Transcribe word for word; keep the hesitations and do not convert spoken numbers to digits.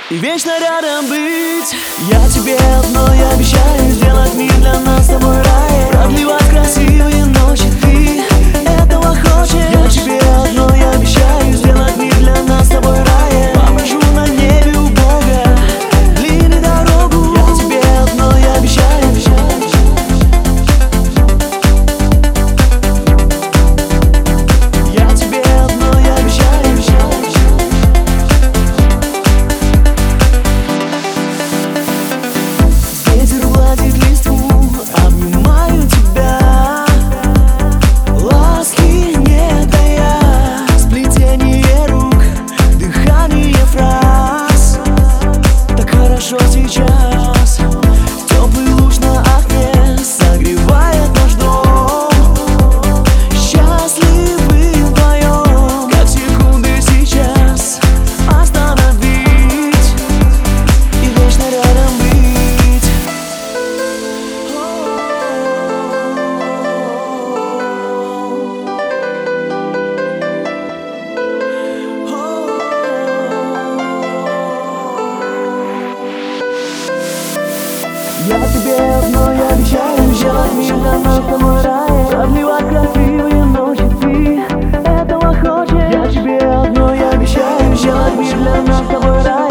и вечно рядом быть. Я тебе одно я обещаю: сделать мир для нас с тобой рай, продлевать красивые ночи. Ты этого хочешь? Я тебе одно я обещаю: сделать мир для нас с тобой рай. Попрошу на небе у Бога длинную дорогу. Я тебе одно я обещаю, обещаю, я тебе одно я обещаю, обещаю. Ветер гладит листву, обнимаю тебя, ласки не тая, сплетение рук, дыхание фраз. Так хорошо сейчас, теплый луч на окне согревает наш дом. Счастливы вдвоем, как секунды сейчас остановить и вечно рядом быть. Я тебе одно я обещаю: сделать мир для нас с тобой рай, продлевать красивые ночи. Ты этого хочешь? Я тебе одно я обещаю: сделать мир для нас с тобой рай.